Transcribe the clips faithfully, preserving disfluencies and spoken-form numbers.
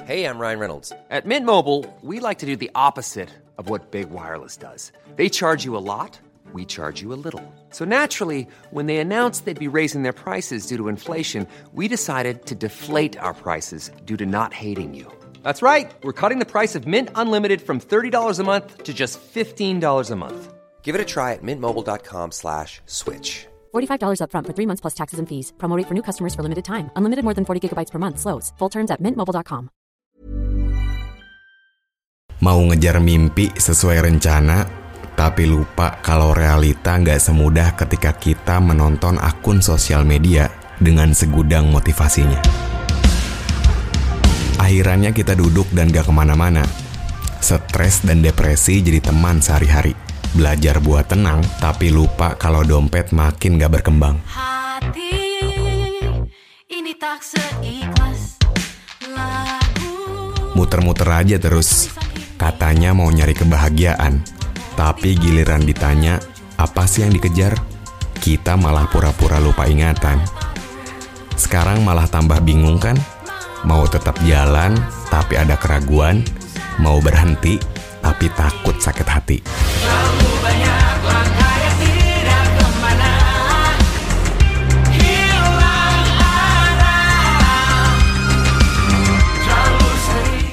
Hey, I'm Ryan Reynolds. At Mint Mobile, we like to do the opposite of what Big Wireless does. They charge you a lot, we charge you a little. So naturally, when they announced they'd be raising their prices due to inflation, we decided to deflate our prices due to not hating you. That's right. We're cutting the price of Mint Unlimited from thirty dollars a month to just fifteen dollars a month. Give it a try at mintmobile.com slash switch. forty-five dollars up front for three months plus taxes and fees. Promo rate for new customers for limited time. Unlimited more than forty gigabytes per month slows. Full terms at mint mobile dot com. Mau ngejar mimpi sesuai rencana, tapi lupa kalau realita nggak semudah ketika kita menonton akun sosial media dengan segudang motivasinya. Akhirannya kita duduk dan gak kemana-mana. Stres dan depresi jadi teman sehari-hari. Belajar buat tenang, tapi lupa kalau dompet makin gak berkembang. Hati ini tak seikhlas lagu. Muter-muter aja terus. Katanya mau nyari kebahagiaan, tapi giliran ditanya, apa sih yang dikejar? Kita malah pura-pura lupa ingatan. Sekarang malah tambah bingung kan? Mau tetap jalan, tapi ada keraguan. Mau berhenti, tapi takut sakit hati. Terlalu banyak langkah yang tidak kemana. Hilang arah. Terlalu sering.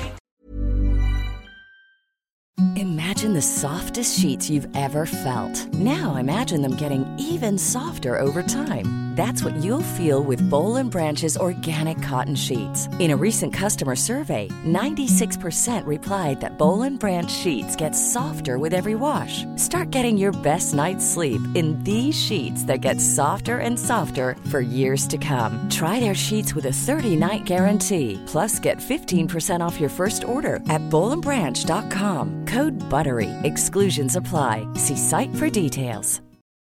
Imagine the softest sheets you've ever felt. Now imagine them getting even softer over time. That's what you'll feel with Boll and Branch's organic cotton sheets. In a recent customer survey, ninety-six percent replied that Boll and Branch sheets get softer with every wash. Start getting your best night's sleep in these sheets that get softer and softer for years to come. Try their sheets with a thirty-night guarantee. Plus, get fifteen percent off your first order at boll and branch dot com. Code BUTTERY. Exclusions apply. See site for details.